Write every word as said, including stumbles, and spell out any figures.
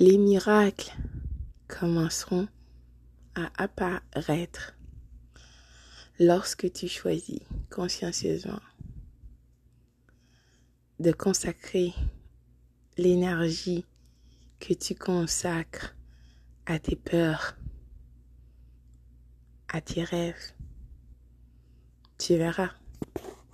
les miracles commenceront à apparaître lorsque tu choisis consciencieusement de consacrer l'énergie que tu consacres à tes peurs, à tes rêves. Tu verras,